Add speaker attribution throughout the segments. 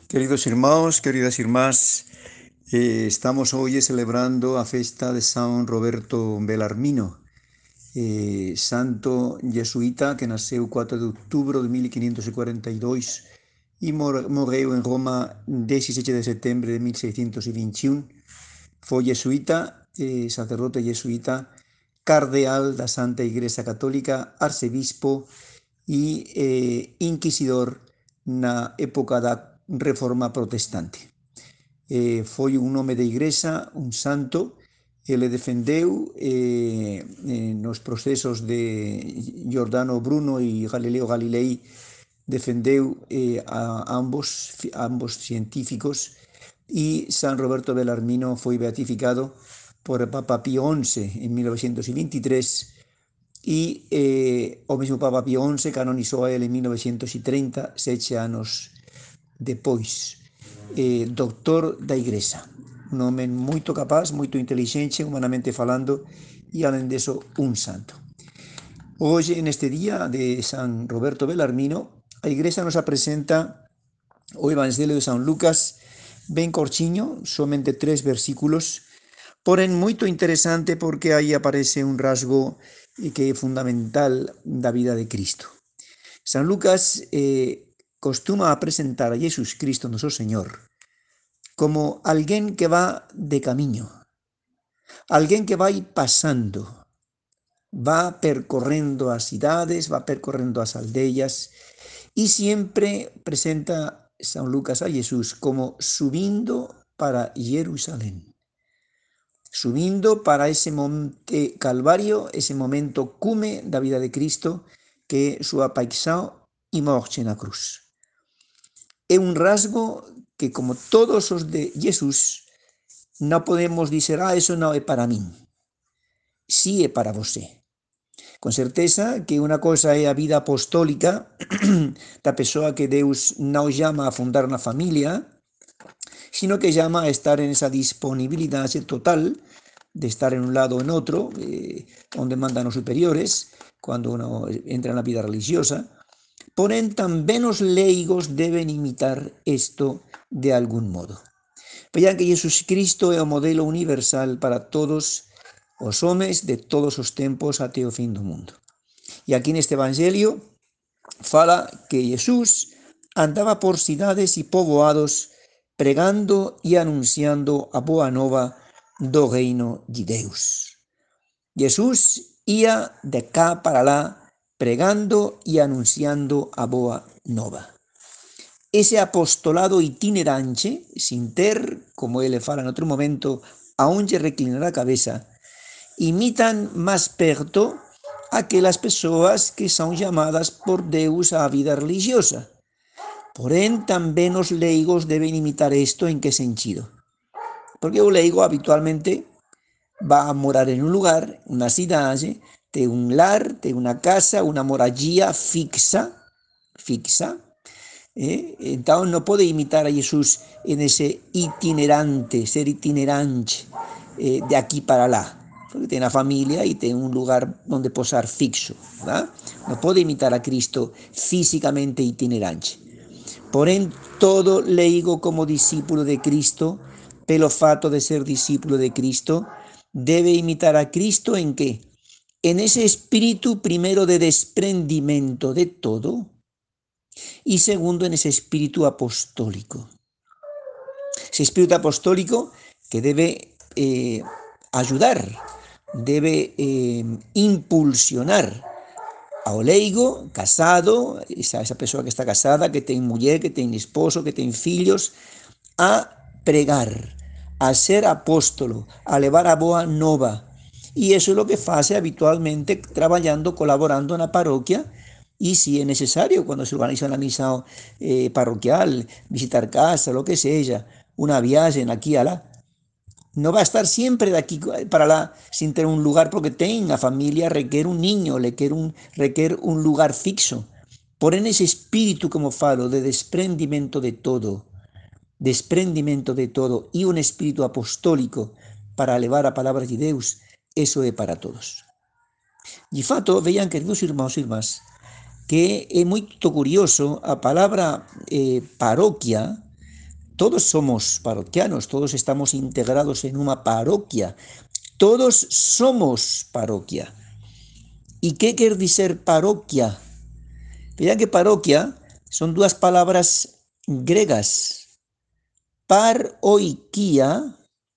Speaker 1: Queridos irmãos, queridas irmás, estamos hoy celebrando a festa de San Roberto Belarmino, santo jesuíta que nasceu 4 de outubro de 1542 e morreu en Roma 17 de setembro de 1621. Foi jesuíta, sacerdote jesuíta, cardeal da Santa Igreja Católica, arcebispo e inquisidor na época da Reforma Protestante. Foi un nome de igrexa, un santo. Ele defendeu nos procesos de Giordano Bruno e Galileo Galilei, defendeu a ambos científicos, e San Roberto Belarmino foi beatificado por Papa Pío XI en 1923 e o mesmo Papa Pío XI canonizou a ele en 1930, 7 anos depois. Doctor da Igrexa, un home moito capaz, moito intelixente, humanamente falando, e alén deso un santo. Hoxe, neste día de San Roberto Belarmino, a Igrexa nos presenta o Evangelio de San Lucas, ben corchiño, somente 3 versículos, porén moito interesante porque aí aparece un rasgo que é fundamental da vida de Cristo. San Lucas costuma presentar a Jesús Cristo, noso Señor, como alguén que va de camiño, alguén que vai pasando, va percorrendo as cidades, va percorrendo as aldeas, e sempre presenta San Lucas a Jesús como subindo para Jerusalén, subindo para ese monte Calvario, ese momento cume da vida de Cristo, que é súa paixão e morte na cruz. É un rasgo que, como todos os de Jesús, non podemos dizer, eso non é para min. Sí é para você. Con certeza que unha cosa é a vida apostólica da persoa que Deus non llama a fundar na familia, sino que llama a estar en esa disponibilidade total de estar en un lado ou en outro, onde mandan os superiores, cando uno entra na vida religiosa. Porén, tamén os leigos deben imitar isto de algún modo. Vean que Jesús Cristo é o modelo universal para todos os homes de todos os tempos até o fin do mundo. E aquí neste Evangelio fala que Jesús andaba por cidades e poboados pregando e anunciando a boa nova do reino de Deus. Jesús ia de cá para lá pregando e anunciando a boa nova. Ese apostolado itinerante, sin ter, como ele fala en outro momento, aonde reclinar a cabeza, imitan máis perto aquelas persoas que son chamadas por Deus á vida religiosa. Porén, tamén os leigos deben imitar isto. En que sentido? Porque o leigo habitualmente va a morar en un lugar, unha cidade, ten un lar, ten unha casa, unha morallía fixa, entón non pode imitar a Jesús en ese itinerante, ser itinerante de aquí para lá, porque ten a familia e ten un lugar onde posar fixo, ¿verdad? Non pode imitar a Cristo físicamente itinerante. Porén, todo leigo como discípulo de Cristo, pelo fato de ser discípulo de Cristo, debe imitar a Cristo en qué? En ese espíritu, primero, de desprendimiento de todo, y segundo, en ese espíritu apostólico. Ese espíritu apostólico que debe ayudar, debe impulsionar ao leigo casado, esa persoa que está casada, que ten muller, que ten esposo, que ten fillos, a pregar, a ser apóstolo, a levar a boa nova. E iso é o que faz habitualmente traballando, colaborando na parroquia, e se é necesario, cando se organiza unha misa parroquial, visitar casa, lo que seja, unha viaxe aquí e alá, non va a estar sempre de aquí para lá sin ter un lugar, porque ten a familia, requer un niño, requer un lugar fixo. Porén, ese espírito, como falo, de desprendimento de todo e un espírito apostólico para levar a palabra de Deus, eso é para todos. De fato, vean, queridos irmãos e irmás, que é moito curioso a palabra parroquia, todos somos parroquianos, todos estamos integrados en una parroquia, todos somos parroquia. ¿Y qué quiere decir parroquia? Vean que parroquia son dos palabras gregas. Paroikia,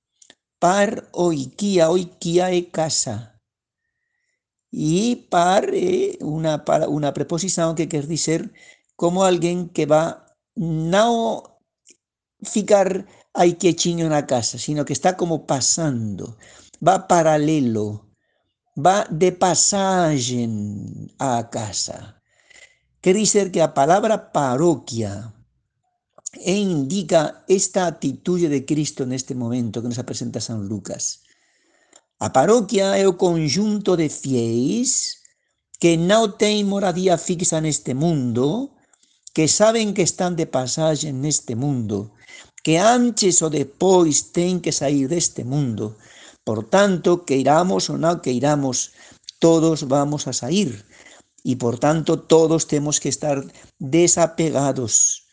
Speaker 1: oikia es casa. Y una preposición que quiere decir como alguien que va no ficar ahí quietinho en la casa, sino que está como pasando, va paralelo, va de pasaje a casa. Quiere decir que la palabra parroquia indica esta actitud de Cristo en este momento que nos presenta San Lucas. A parroquia é o conjunto de fiéis que não têm moradia fixa neste mundo, que sabem que estão de passagem neste mundo, que antes ou depois têm que sair deste mundo. Portanto, queiramos ou não queiramos, todos vamos a sair. E, portanto, todos temos que estar desapegados,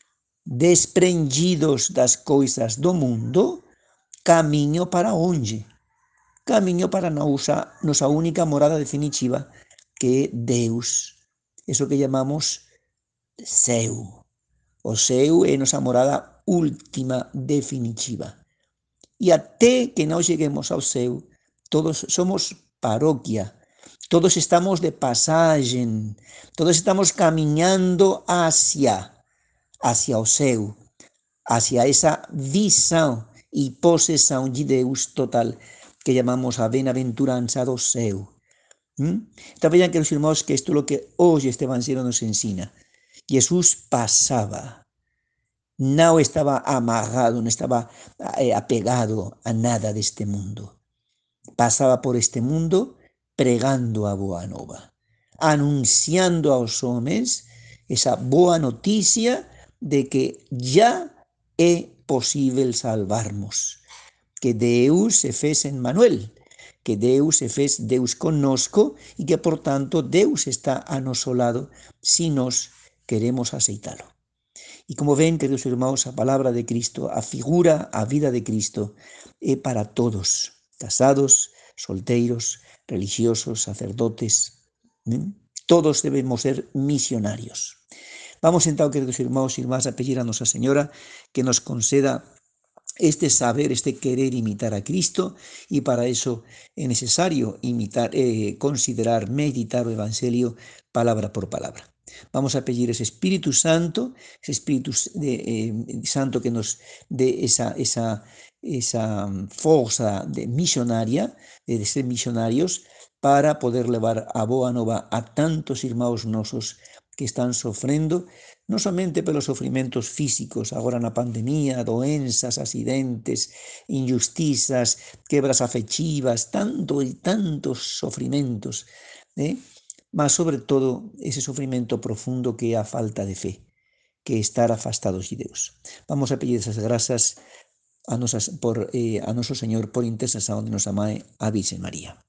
Speaker 1: desprendidos das coisas do mundo, caminho para onde? Caminho para nossa única morada definitiva, que é Deus. Isso que chamamos céu. O céu é nossa morada última, definitiva. E até que não cheguemos ao céu, todos somos paróquia, todos estamos de passagem, todos estamos caminhando hacia o céu, hacia essa visão e possessão de Deus total, que chamamos a bem-aventurança do céu. Então vejam, queridos irmãos, que isto é o que hoje este Evangelho nos ensina. Jesus passava, não estava amarrado, não estava apegado a nada deste mundo. Passava por este mundo pregando a boa nova, anunciando aos homens essa boa notícia de que já é possível salvarmos, que Deus se fez Emmanuel, que Deus se fez Deus conosco e que, portanto, Deus está a nosso lado se nós queremos aceitá-lo. E como ven, queridos irmãos, a palavra de Cristo, a figura, a vida de Cristo é para todos, casados, solteiros, religiosos, sacerdotes, todos debemos ser misionarios. Vamos então, queridos irmãos e irmãs, a pedir a Nossa Senhora que nos conceda este saber, este querer imitar a Cristo, y para eso es necesario considerar, meditar el Evangelio palabra por palabra. Vamos a pedir ese Espíritu Santo Santo que nos dé esa fuerza misionaria, de ser misionarios, para poder levar a boa nova a tantos irmãos nosos que están sofrendo, non somente pelos sofrimentos físicos, agora na pandemia, doenzas, accidentes, injustizas, quebras afectivas, tantos sofrimentos, mas sobre todo ese sofrimento profundo que é a falta de fe, que é estar afastados de Deus. Vamos a pedir esas grazas a noso Señor por intercesión de nosa Mãe, a Virgen María.